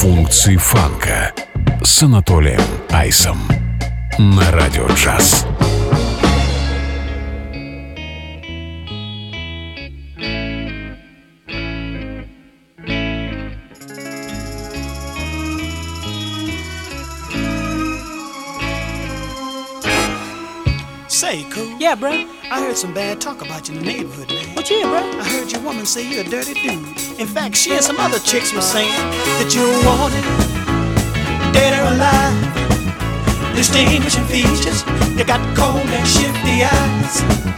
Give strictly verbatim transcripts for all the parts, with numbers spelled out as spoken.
Функции фанка с Анатолием Айсом на Радио Джаз. Say, cool. Yeah, bro. I heard some bad talk about you in the neighborhood, man. What you hear, bro? I heard your woman say you're a dirty dude. In fact, she and some other chicks were saying that you're wanted, dead or alive. Distinguishing features, you got cold and shifty eyes.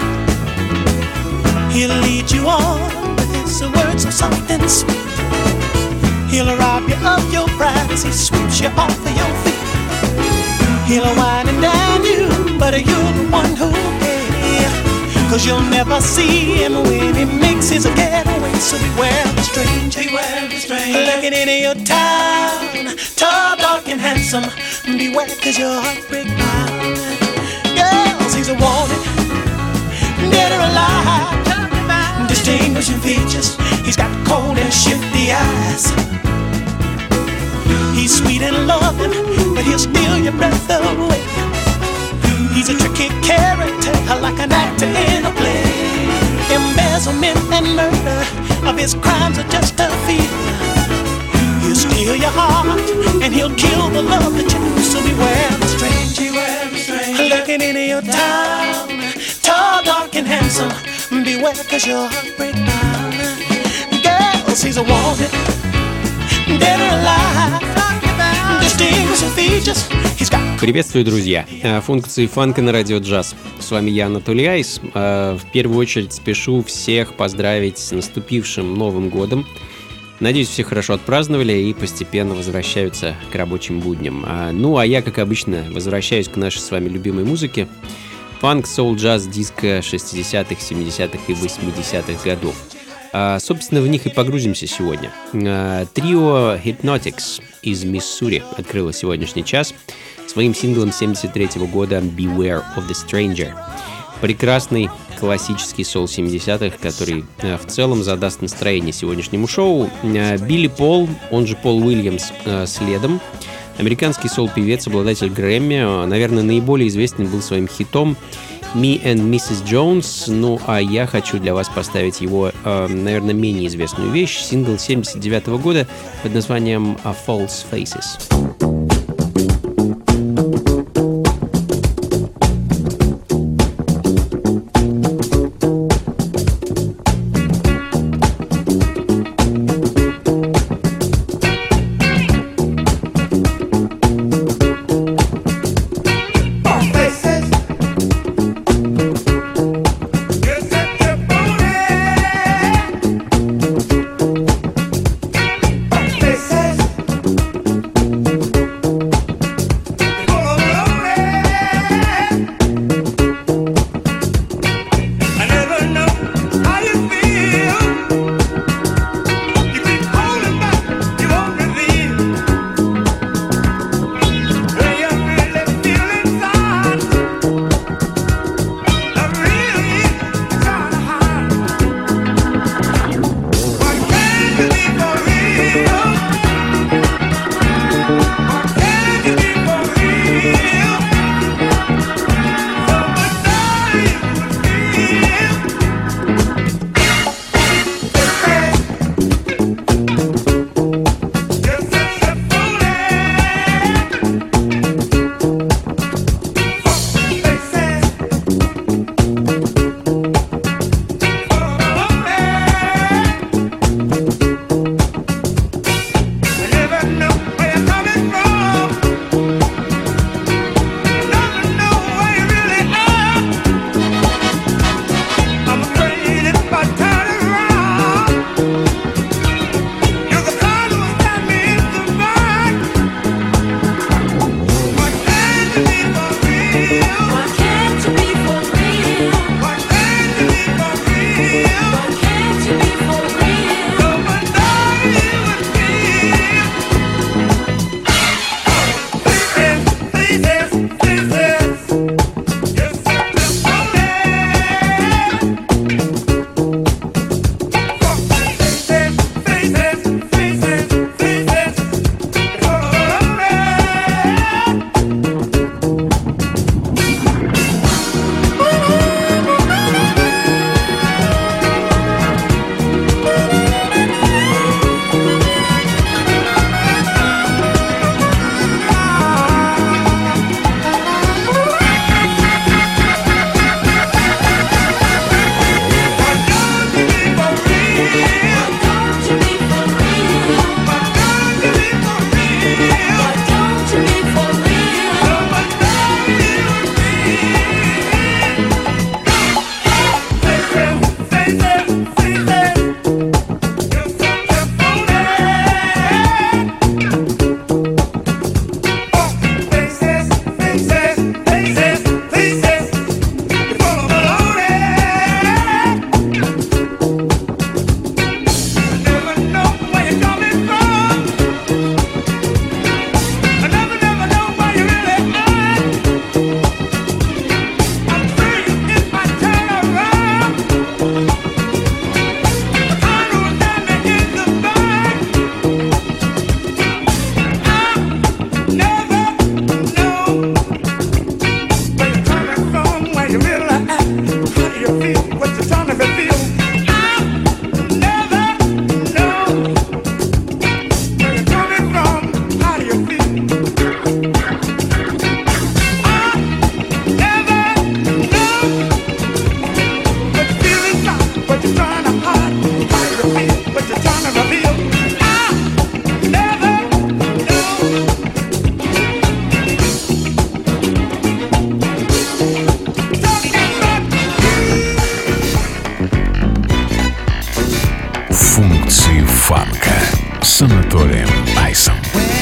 He'll lead you on with his words of something sweet. He'll rob you of your pride as he sweeps you off of your feet. He'll wine and dine you, but you're the one who'll pay. Cause you'll never see him when he makes his getaway. So beware of the stranger, beware of the stranger looking into your town. Tall, dark and handsome, beware cause your heart break down. Girls, he's a wanted, dead or alive. Distinguishing features, he's got cold and shifty eyes. He's sweet and loving, but he'll steal your breath away. He's a tricky character, like an actor in a play. Embezzlement and murder of his crimes are just a fever. He'll steal your heart, and he'll kill the love that you knew. So beware of the stranger, beware of the stranger looking into your town. Tall, dark and handsome, beware cause your heart break down. Girls, he's a wanted, dead or alive. Приветствую, друзья! Функции фанка на Радио Джаз. С вами я, Анатолий Айс. В первую очередь спешу всех поздравить с наступившим Новым годом. Надеюсь, все хорошо отпраздновали и постепенно возвращаются к рабочим будням. Ну, а я, как обычно, возвращаюсь к нашей с вами любимой музыке. Фанк, соул, джаз, диско шестидесятых, семидесятых и восьмидесятых годов. А, собственно, в них и погрузимся сегодня. А, трио Hypnotics из Миссури открыло сегодняшний час своим синглом семьдесят третьего года Beware of the Stranger. Прекрасный классический соул семидесятых, который а, в целом задаст настроение сегодняшнему шоу. А, Билли Пол, он же Пол Уильямс, а, следом. Американский соул-певец, обладатель Грэмми, наверное, наиболее известен был своим хитом Me and миссис Jones, ну а я хочу для вас поставить его, э, наверное, менее известную вещь, сингл семьдесят девятого года под названием False Faces. Faces. Айсом.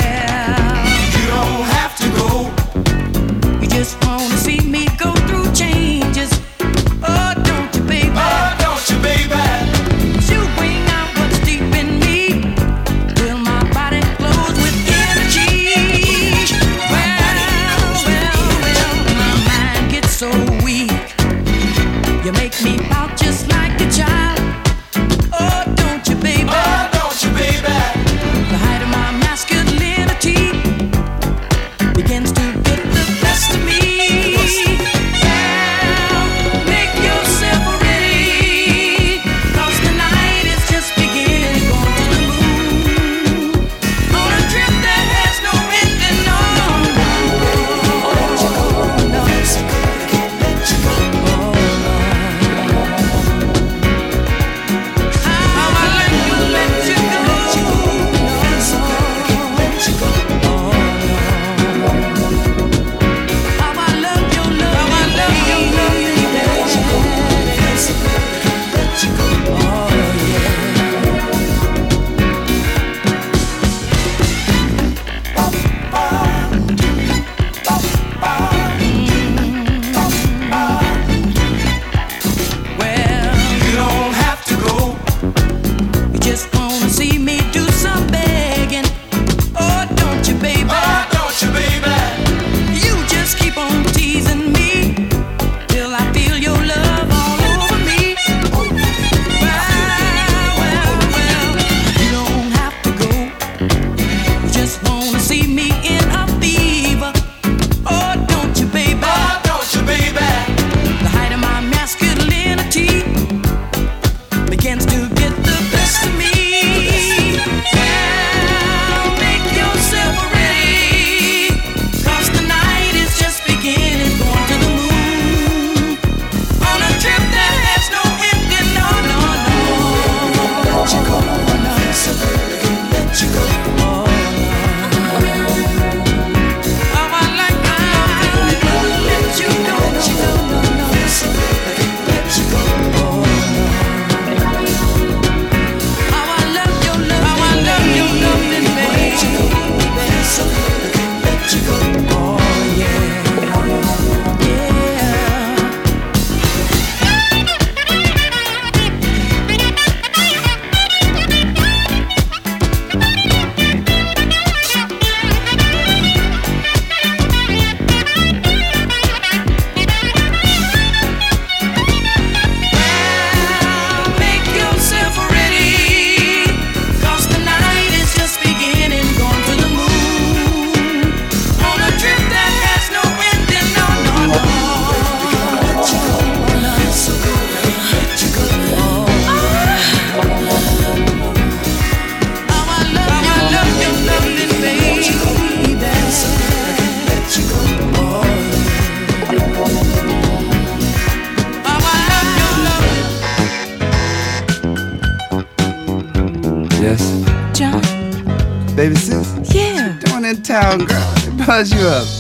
Baby sis? Yeah. What you doing in town, girl? It buzz you up.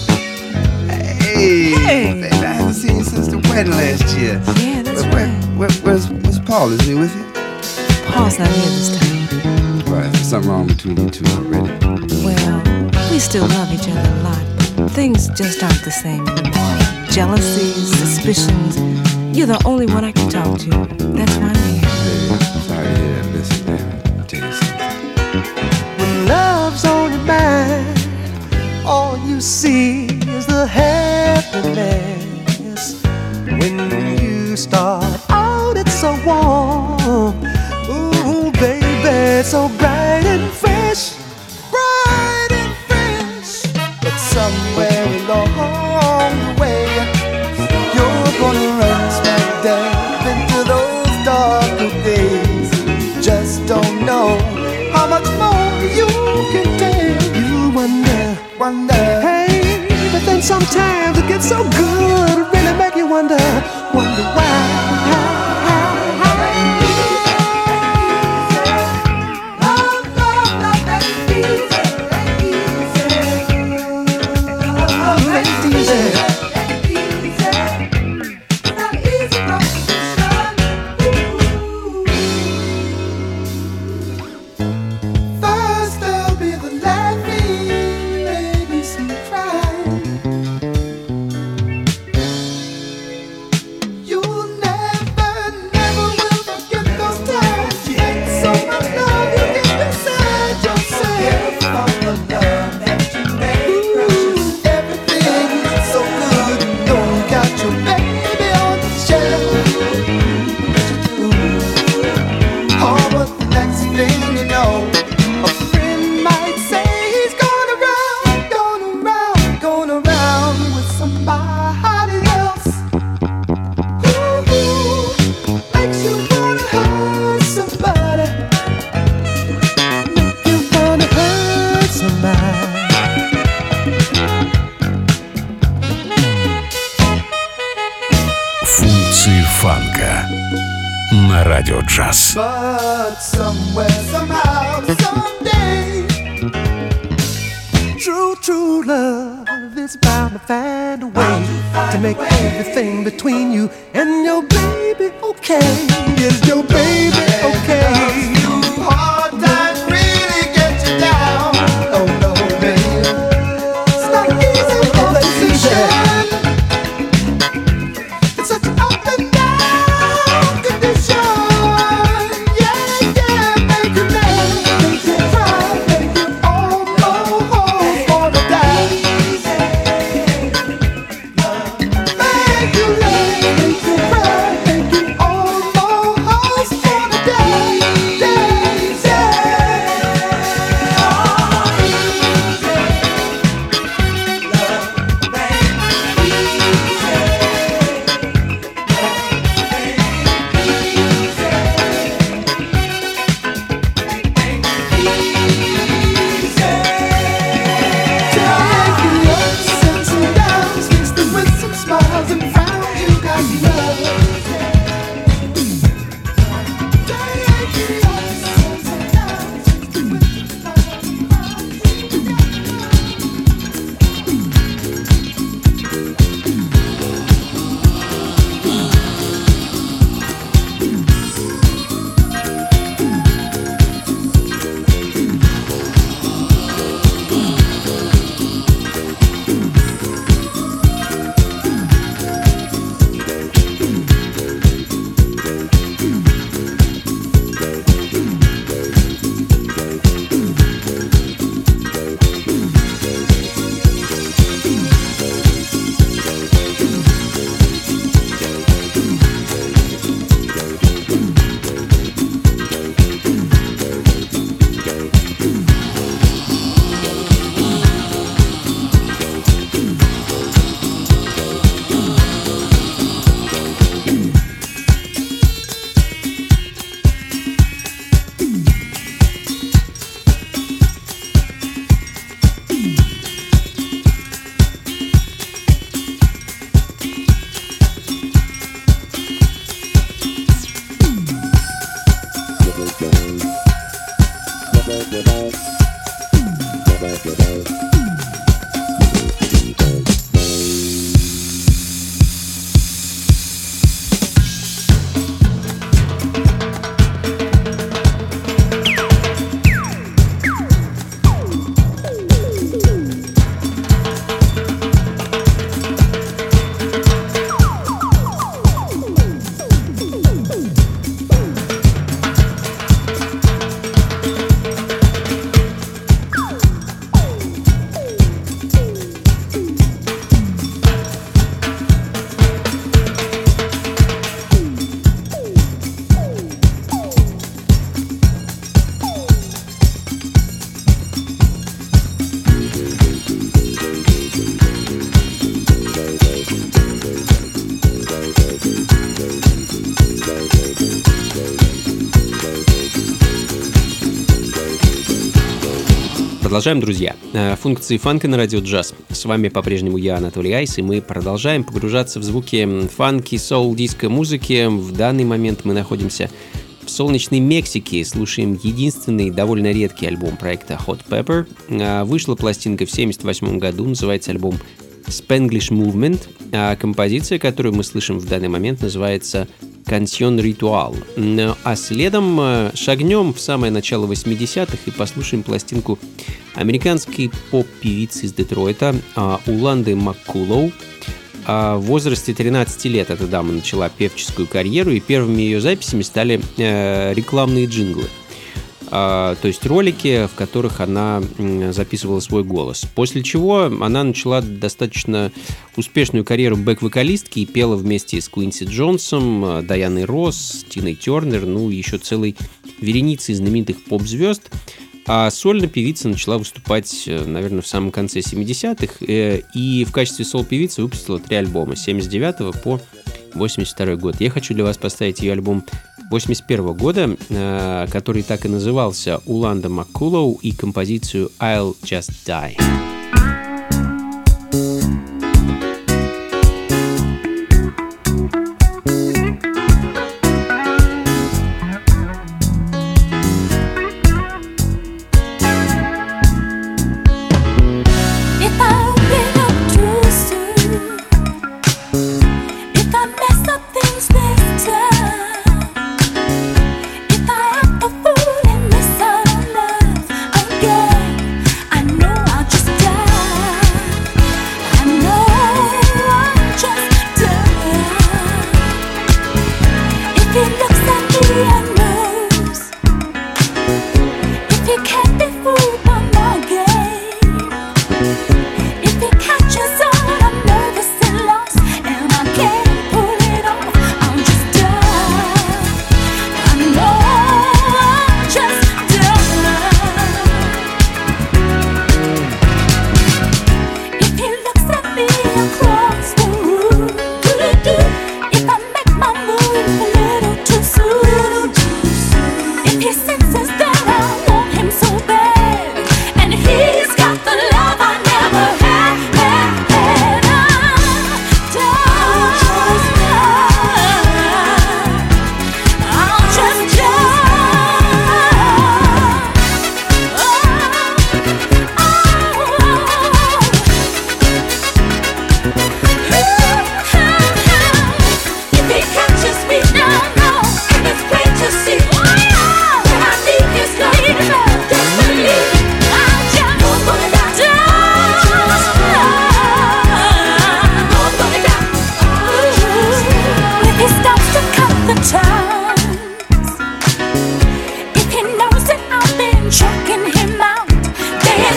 Hey, Hey. baby, I haven't seen you since the wedding last year. Yeah, that's where, right. Where, where's, where's Paul? Is he with you? Paul's not here this time. Right, there's something wrong between you two already. Well, we still love each other a lot, but things just aren't the same anymore. Jealousies, suspicions. You're the only one I can talk to. That's why I'm here. Hey, sorry to hear that. Listen, baby, I'll tell you something. When love's on your mind, all you see is the happiness. When you start out, it's so warm. Ooh, baby, it's so bright and fresh. Bright and fresh. But somewhere along the way, you're gonna run smack dab into those darker days. Just don't know how much more you can take. You wonder, wonder, hey, but then sometimes it gets so good, it really make you wonder, wonder why. First there'll be the last. фанка на Радио Джаз. But somewhere, somehow, someday, true, true love is bound to find a way to make everything between you and your baby okay. Is your baby okay? Hard times really get you down. Oh no, baby, it's not easy for the season. It's such an up and down condition. Yeah, yeah, make you laugh, make you cry, make you almost wanna die. Make you laugh, make you cry, make you almost wanna die. Yeah, Продолжаем, друзья. Функции фанка на Радио Джаз. С вами по-прежнему я, Анатолий Айс, и мы продолжаем погружаться в звуки фанки, соул, диско музыки. В данный момент мы находимся в солнечной Мексике, слушаем единственный довольно редкий альбом проекта Hot Pepper. Вышла пластинка в семьдесят восьмом году, называется альбом Spanglish Movement, а композиция, которую мы слышим в данный момент, называется Canción Ritual. А следом шагнем в самое начало восьмидесятых и послушаем пластинку американской поп-певицы из Детройта Уланды Маккулоу. В возрасте тринадцати лет эта дама начала певческую карьеру, и первыми ее записями стали рекламные джинглы. То есть ролики, в которых она записывала свой голос. После чего она начала достаточно успешную карьеру бэк-вокалистки и пела вместе с Квинси Джонсом, Дайаной Росс, Тиной Тернер, ну и еще целой вереницей знаменитых поп-звезд. А сольно певица начала выступать, наверное, в самом конце семидесятых, и в качестве соло-певицы выпустила три альбома с семьдесят девятого по восемьдесят второй год. Я хочу для вас поставить ее альбом восемьдесят первого года, который так и назывался «Уланда Маккулоу», и композицию «I'll Just Die».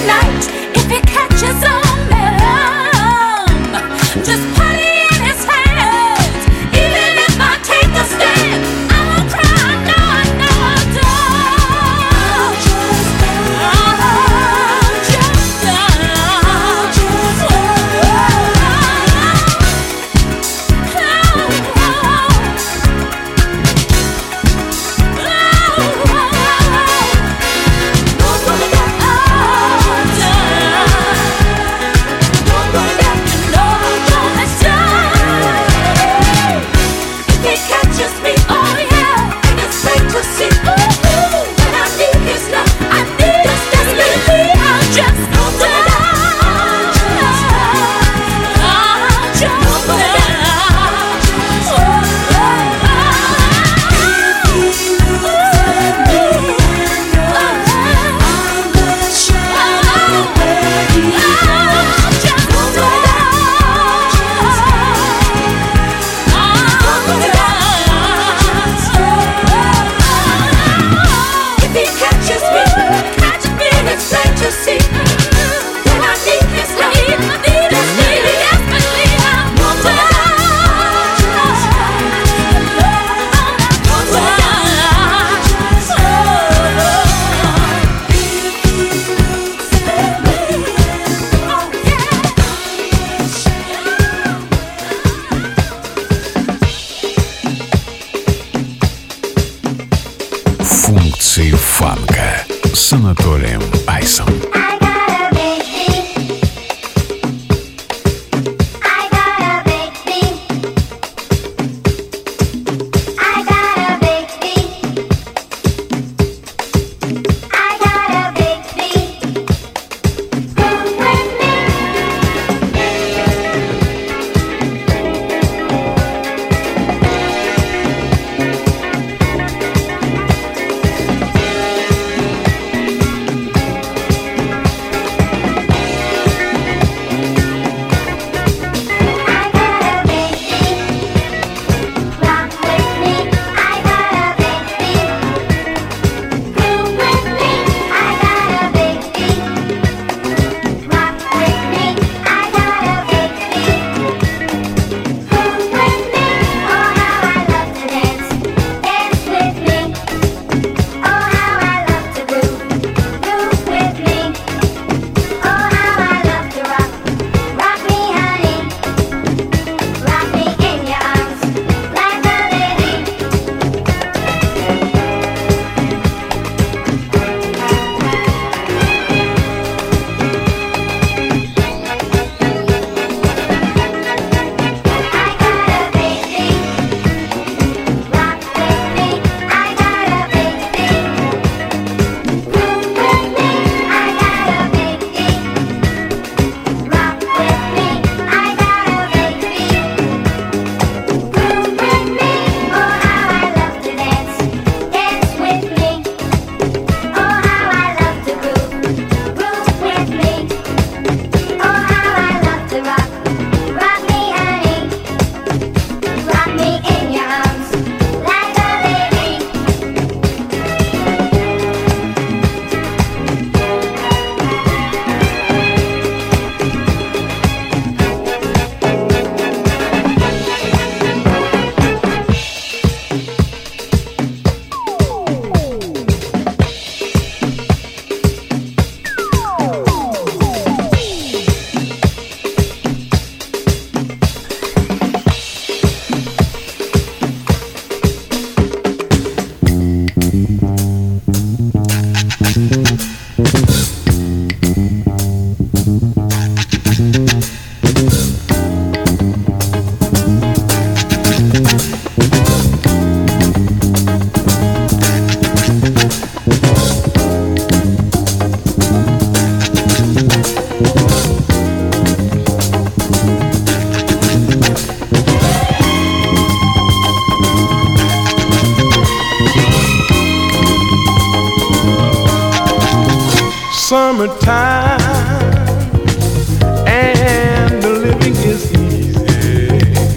Функции фанка с Анатолием Айсом. Summertime and the living is easy.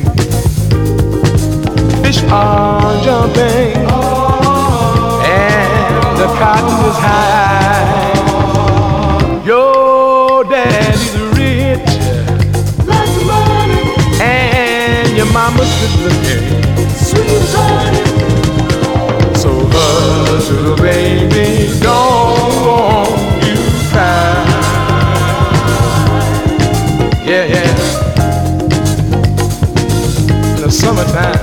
Fish are jumping and the cotton is high. Your your daddy's rich, lots of money, and your mama's good looking, sweet as honey. So hush, little baby, don't you cry. Yeah, yeah. In the summertime.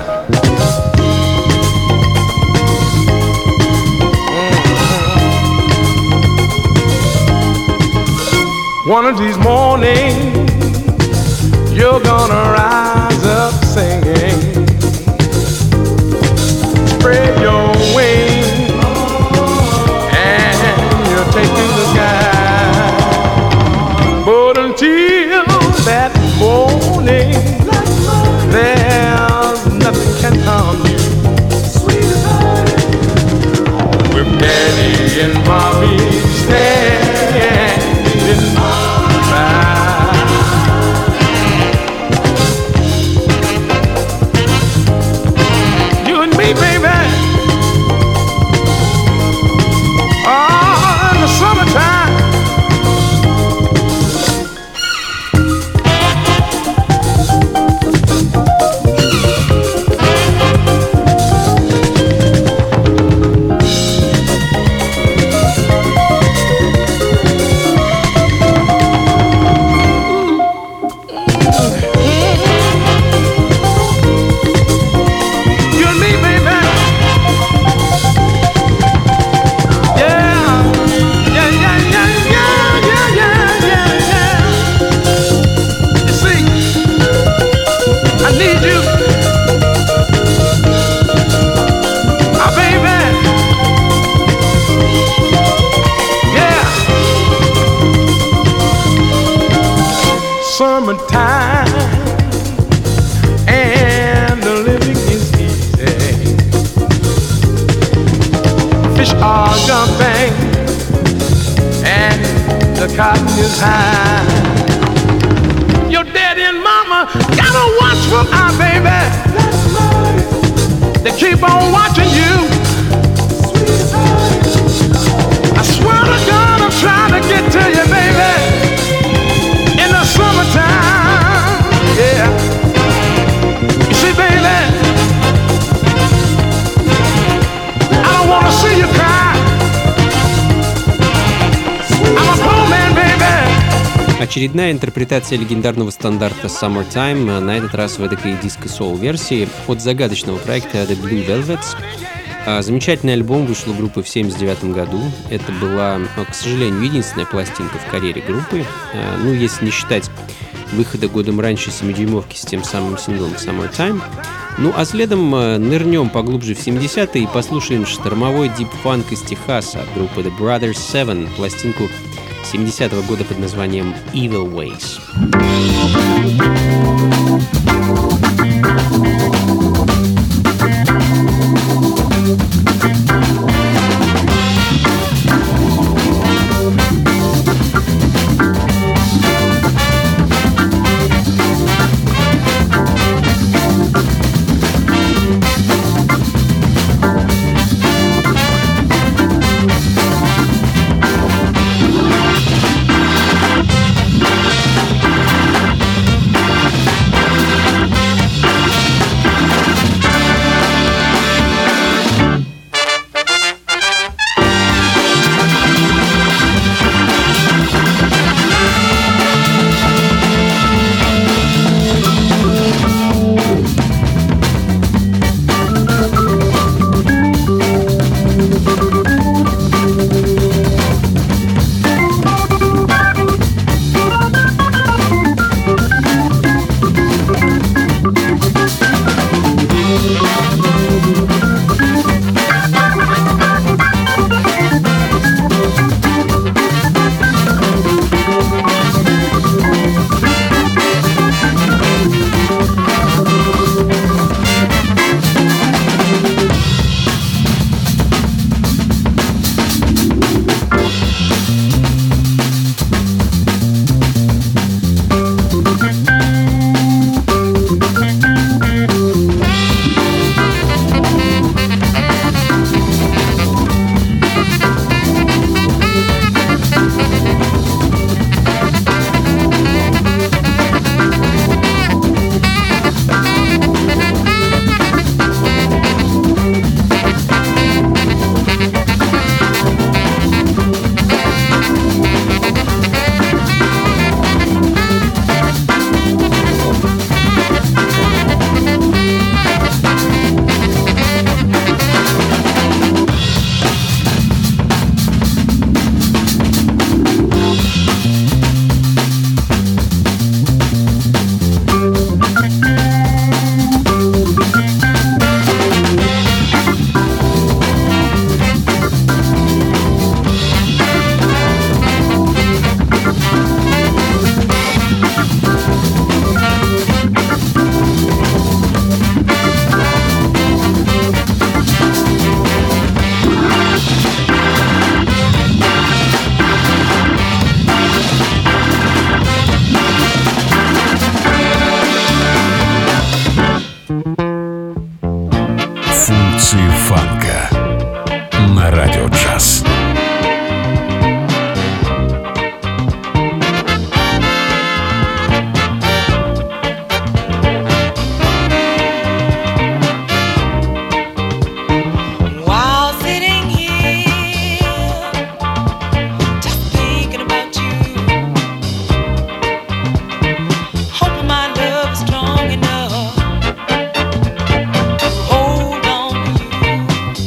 One of these mornings, you're gonna rise up singing. Spread your wings and you'll take to the sky. But until that morning, there's nothing can harm you. With daddy and mommy standing by. You and me, baby. Oh, in the summertime. Summertime and the living is easy. Fish are jumping and the cotton is high. Your daddy and mama gotta watch for our baby. They keep on watching you. I swear to God, I'm trying to get to you, baby. Summertime, yeah. You see, baby, I don't want to see you cry. I'm a poor man, baby. Очередная интерпретация легендарного стандарта Summertime, на этот раз в эдакой диско-соул-версии от загадочного проекта The Blue Velvets. Замечательный альбом вышел у группы в семьдесят девятом году. Это была, к сожалению, единственная пластинка в карьере группы. Ну, если не считать выхода годом раньше семидюймовки с тем самым синглом Summertime. Ну, а следом нырнем поглубже в семидесятые и послушаем штормовой дип-фанк из Техаса от группы The Brothers Seven, пластинку семидесятого года под названием Evil Ways. фанка на радио джаз. Strong enough to hold on to you.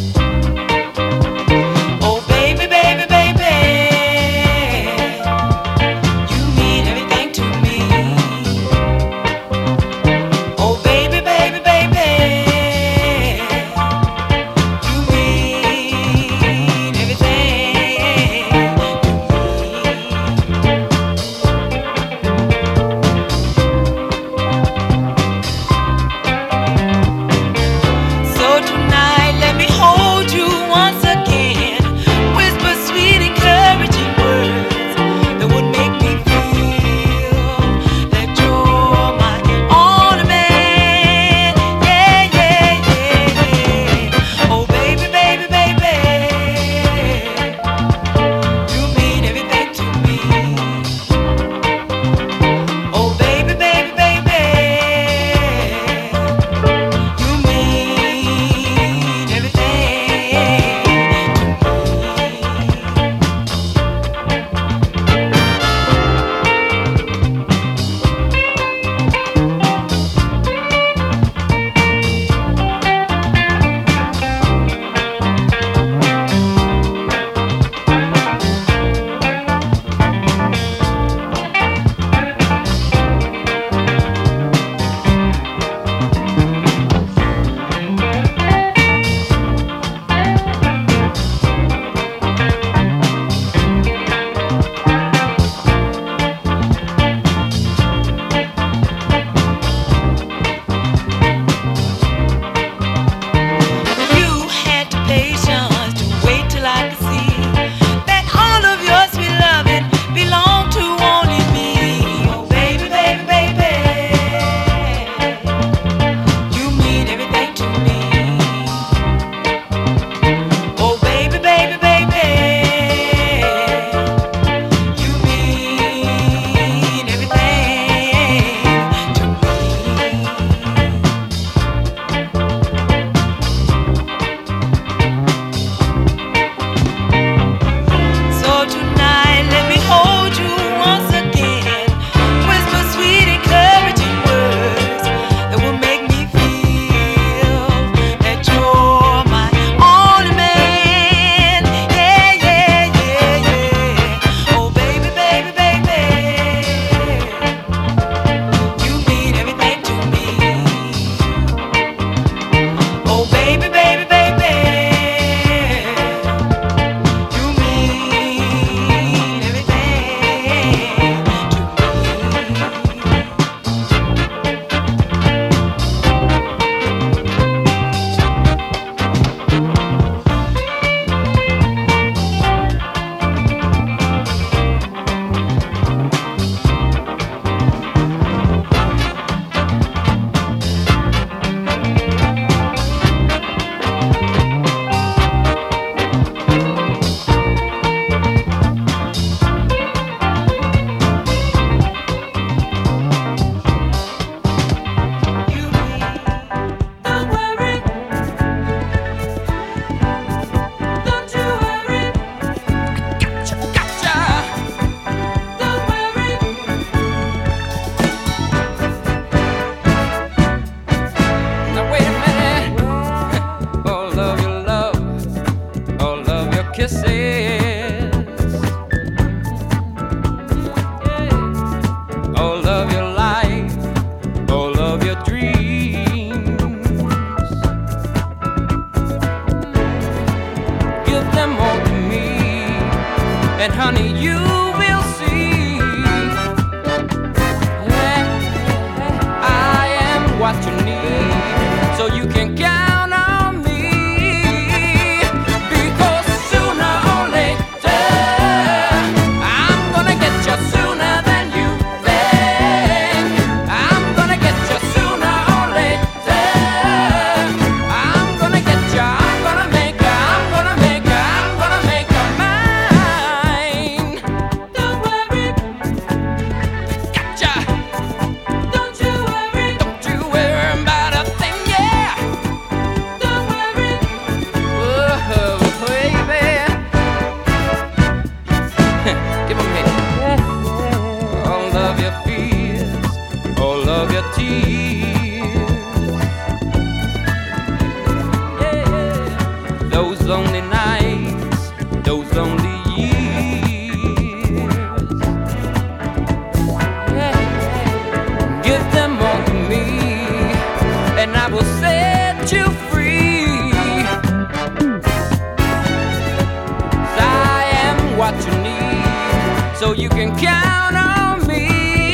can count on me,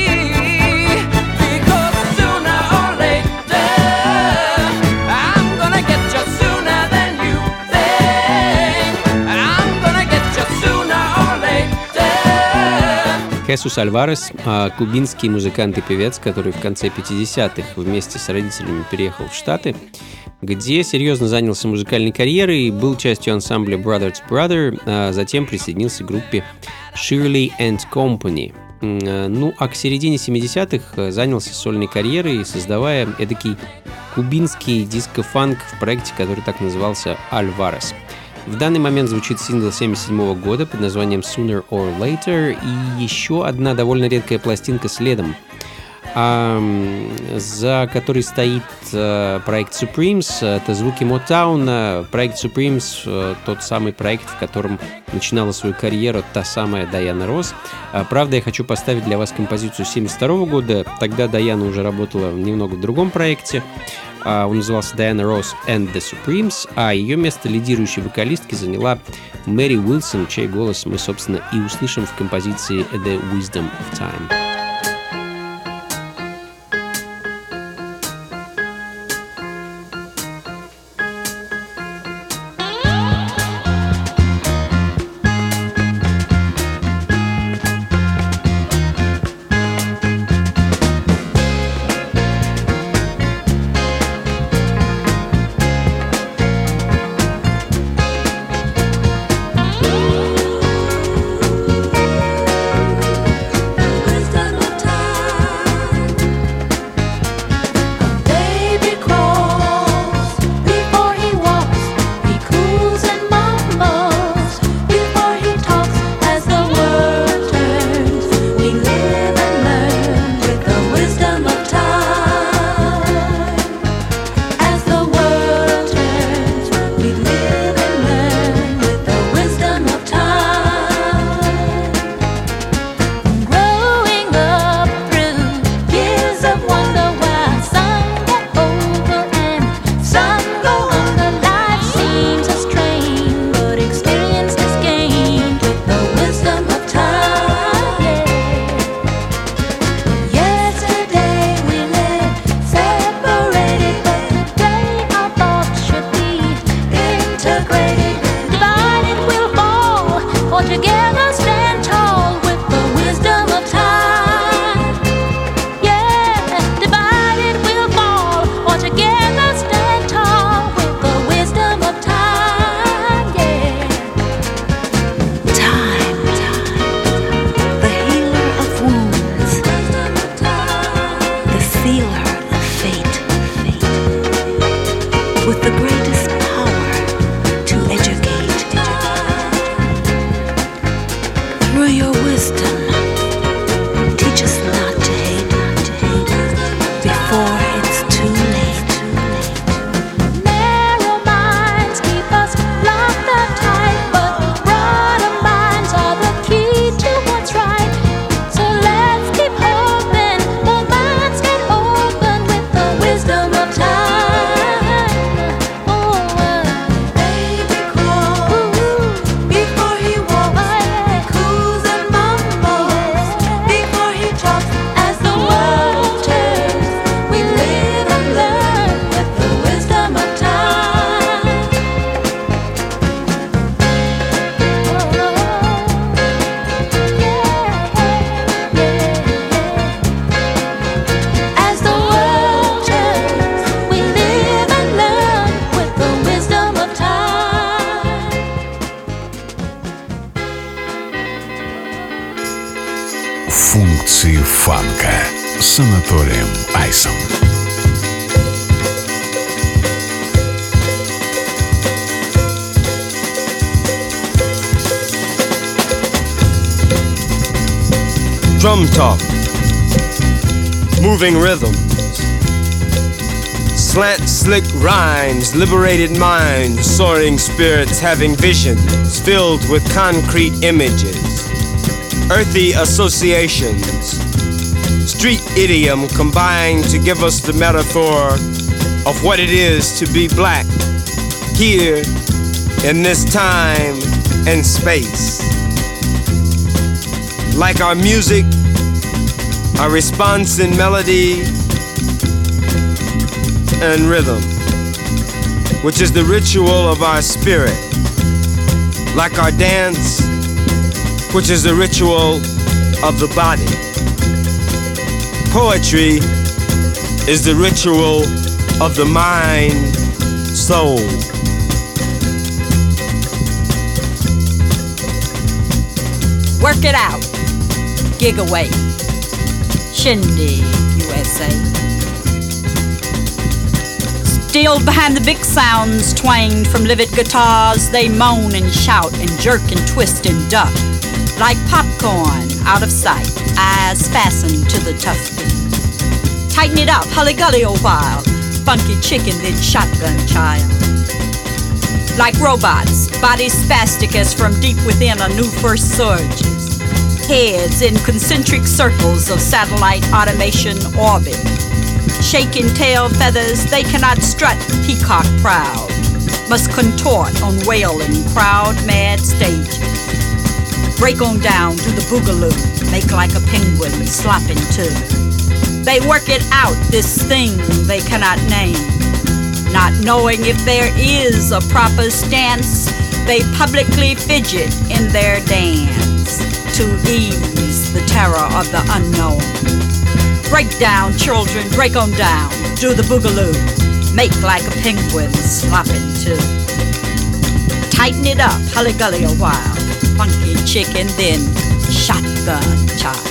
because sooner or later I'm gonna get you sooner than you think. I'm gonna get you sooner or later. Хесус Альварес – кубинский музыкант и певец, который в конце пятидесятых вместе с родителями переехал в Штаты, где серьезно занялся музыкальной карьерой, был частью ансамбля Brothers Brother, а затем присоединился к группе Shirley and Company. Ну, а к середине семидесятых занялся сольной карьерой, создавая эдакий кубинский диско-фанк в проекте, который так назывался «Альварес». В данный момент звучит сингл семьдесят седьмого года под названием Sooner or Later и еще одна довольно редкая пластинка следом, а, за которой стоит а, проект Supremes. Это звуки Мотауна. Проект Supremes а, тот самый проект, в котором начинала свою карьеру та самая Дайана Росс. А, правда, я хочу поставить для вас композицию семьдесят второго года. Тогда Дайана уже работала немного в другом проекте. А, он назывался Diana Ross and the Supremes, а ее место лидирующей вокалистки заняла Мэри Уилсон, чей голос мы, собственно, и услышим в композиции The Wisdom of Time. Функции фанка с Анатолием Айсом. Drum talk, moving rhythms, slant slick rhymes, liberated minds, soaring spirits having visions filled with concrete images, earthy associations, street idiom combined to give us the metaphor of what it is to be black here in this time and space. like our music, our response in melody and rhythm, which is the ritual of our spirit, like our dance, which is the ritual of the body. Poetry is the ritual of the mind, soul. Work it out. Gig away. Shindig, U S A. Still behind the big sounds twanged from livid guitars, they moan and shout and jerk and twist and duck like popcorn out of sight, eyes fastened to the tough beat. Tighten it up, hully-gully a while, funky chicken then shotgun child. Like robots, bodies spastic as from deep within a new first surges. Heads in concentric circles of satellite automation orbit. Shaking tail feathers, they cannot strut peacock proud. Must contort on wailing crowd-mad stages. Break on down to the boogaloo, make like a penguin slopping too. They work it out, this thing they cannot name. Not knowing if there is a proper stance, they publicly fidget in their dance to ease the terror of the unknown. Break down, children, break on down, do the boogaloo, make like a penguin slopping too. Tighten it up, hully-gully a while, funky chicken, then shotgun child.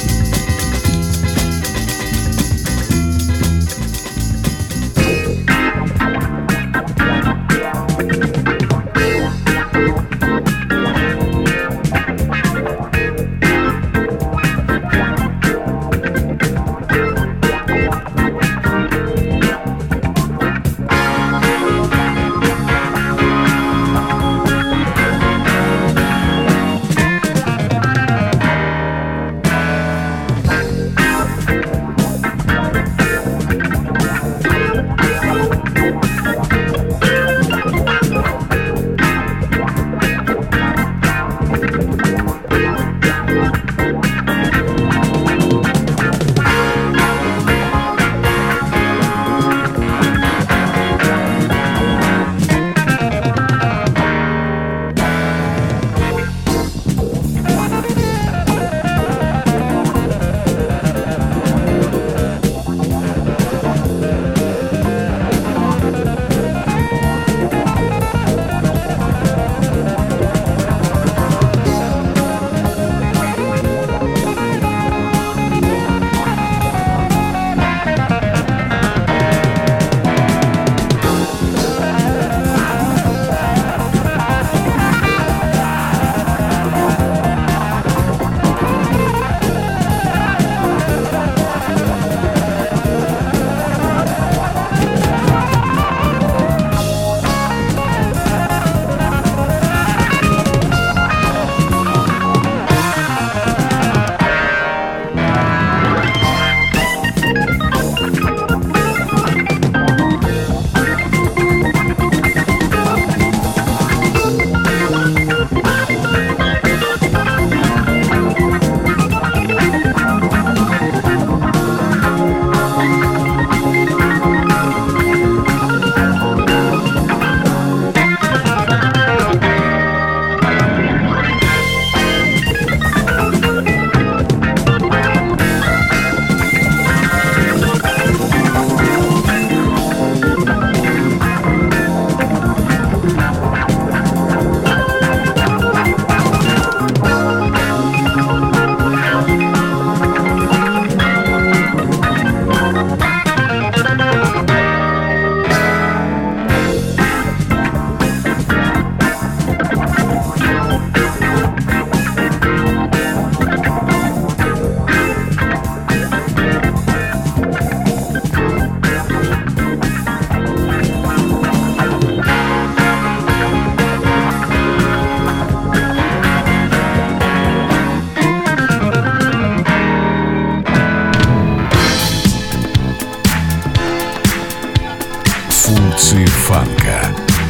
Функции фанка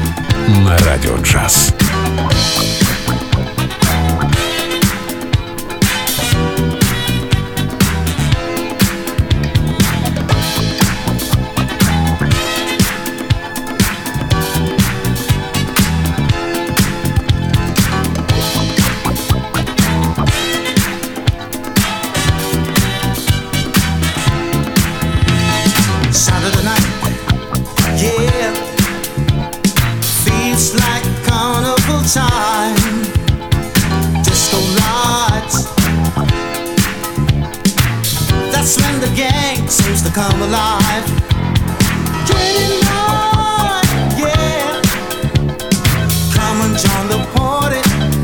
на Радио Джаз. the gang seems to come alive. twenty-nine, yeah. Come and join the party.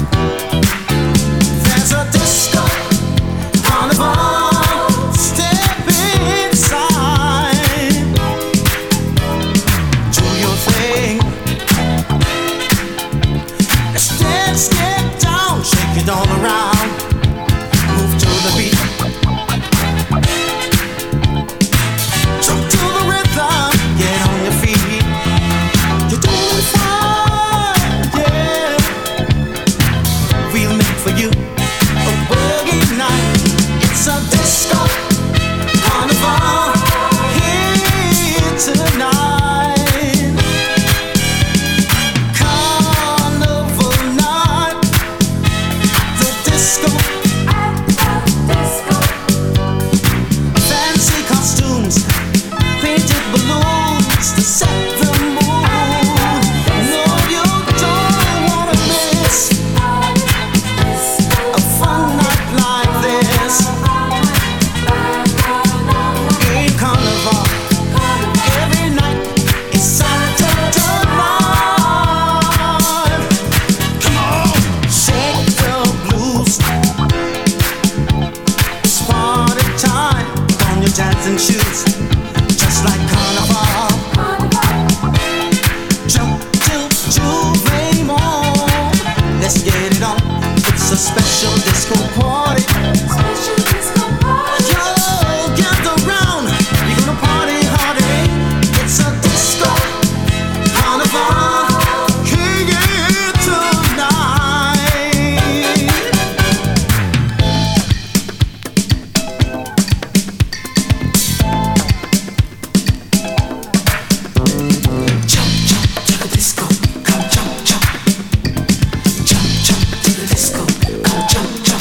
There's a disco carnival. Step inside. Do your thing. Dance, get down, shake it all around. Move to the beat. Jump to the rhythm, get on your feet. You're doing fine, yeah. We'll make for you a boogie night. It's a disco carnival here tonight. Carnival night, the disco. Fancy costumes, painted balloons to set the mood. No, you don't wanna miss a fun night like this. In Carnival, every night is Saturday night. Come on, shake the blues. It's party time. Put on your dancing shoes, just like Carnival. Jump to Juve Mall. Let's get it on. It's a special disco party. Yo, gather round. You're gonna party hard, eh? It's a disco carnival here tonight. Jump, jump to the disco. Come jump, jump. Jump, jump to the disco. Come jump, jump.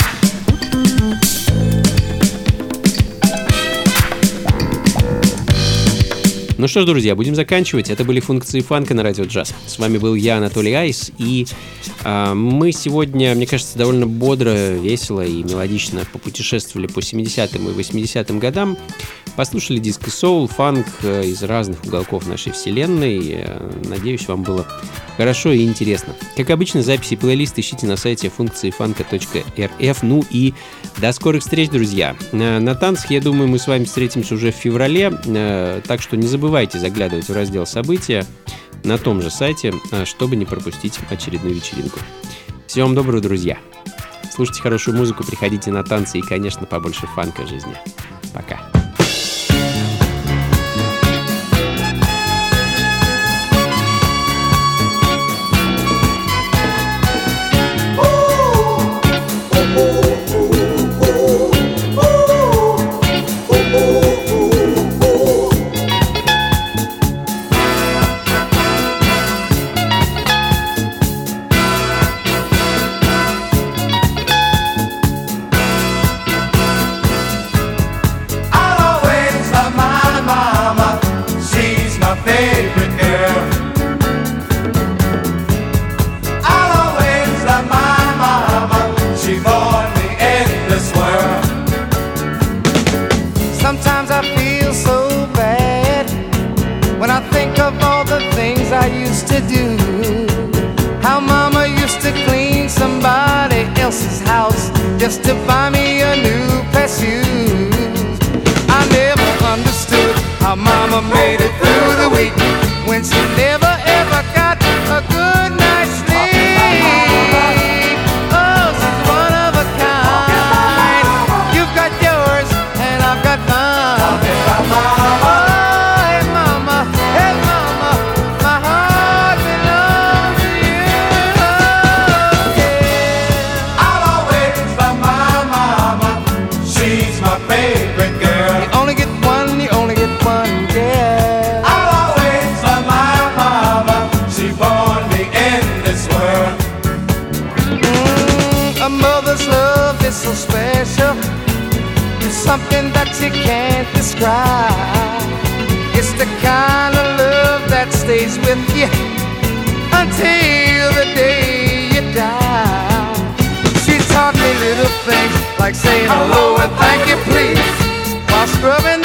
Ну что ж, друзья, будем заканчивать. Это были функции фанка на радио джаз. С вами был я, Анатолий Айс, и а, мы сегодня, мне кажется, довольно бодро, весело и мелодично попутешествовали по семидесятым и восьмидесятым годам. Послушали диско соул, фанк из разных уголков нашей вселенной. Надеюсь, вам было хорошо и интересно. Как обычно, записи и плейлист ищите на сайте функции фанка точка эр эф. Ну и до скорых встреч, друзья. На танцах, я думаю, мы с вами встретимся уже в феврале, так что не забывайте заглядывать в раздел «События» на том же сайте, чтобы не пропустить очередную вечеринку. Всего вам доброго, друзья. Слушайте хорошую музыку, приходите на танцы и, конечно, побольше фанка в жизни. Пока. Sometimes I feel so bad when I think of all the things I used to do. How mama used to clean somebody else's house just to buy me a new pair of shoes. I never understood how mama made it through the week when she never ever got a good night's sleep. Oh, she's one of a kind. You've got yours and I've got mine. Oh, hey mama, hey mama, my heart belongs to you. Oh, yeah. I'll always love my mama. She's my favorite girl. You only get one, you only get one, yeah. I'll always love my mama. She born me in this world. Mm, a mother's love is so special. It's something that you can't describe. It's the kind of love that stays with you until the day you die. She taught me little things like saying hello and thank you please while scrubbing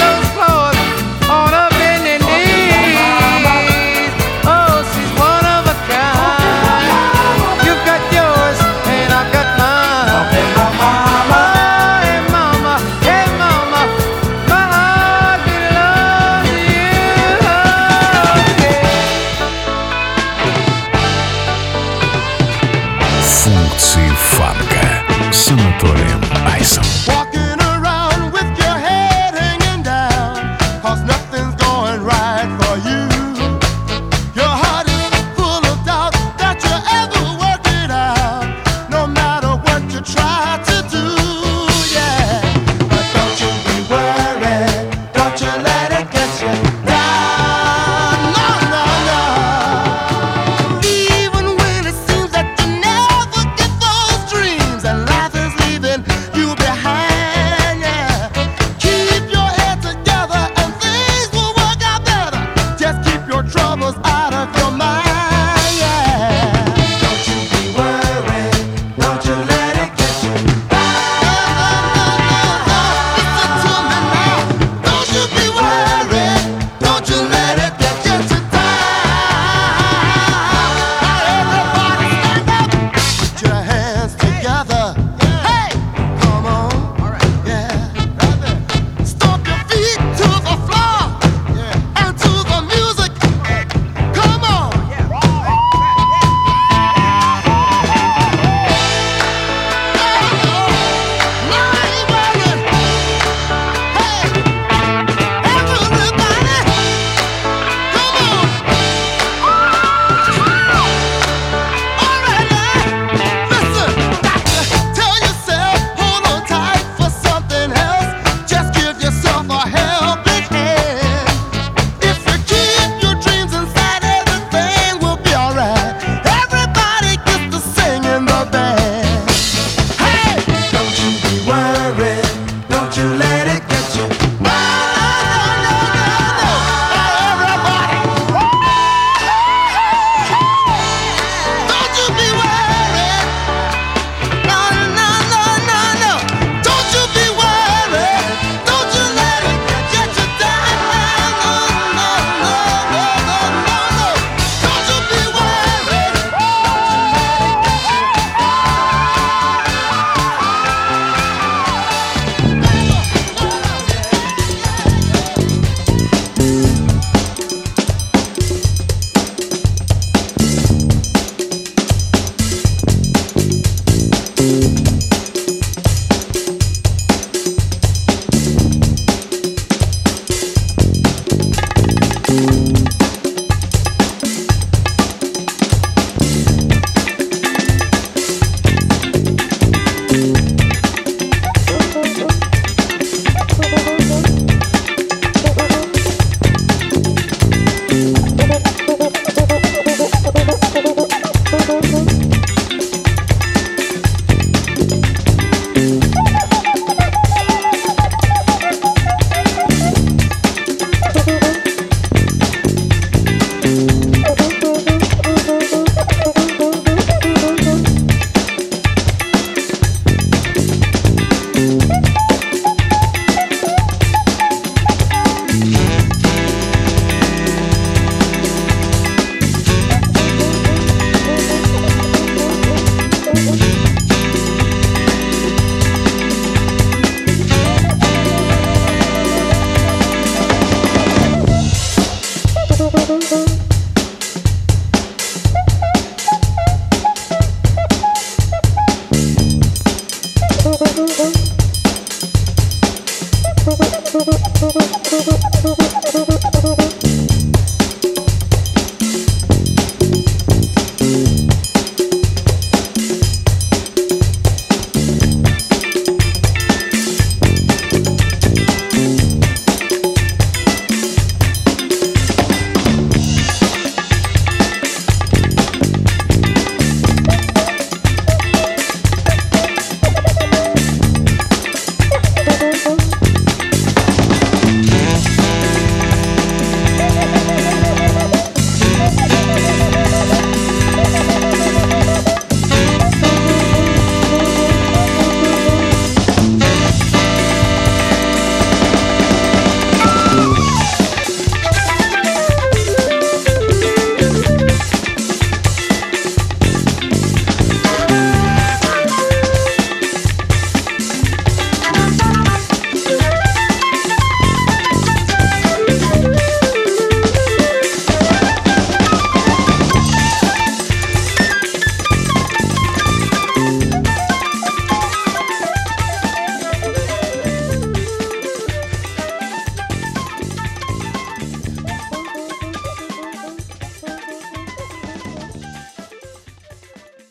Thank you.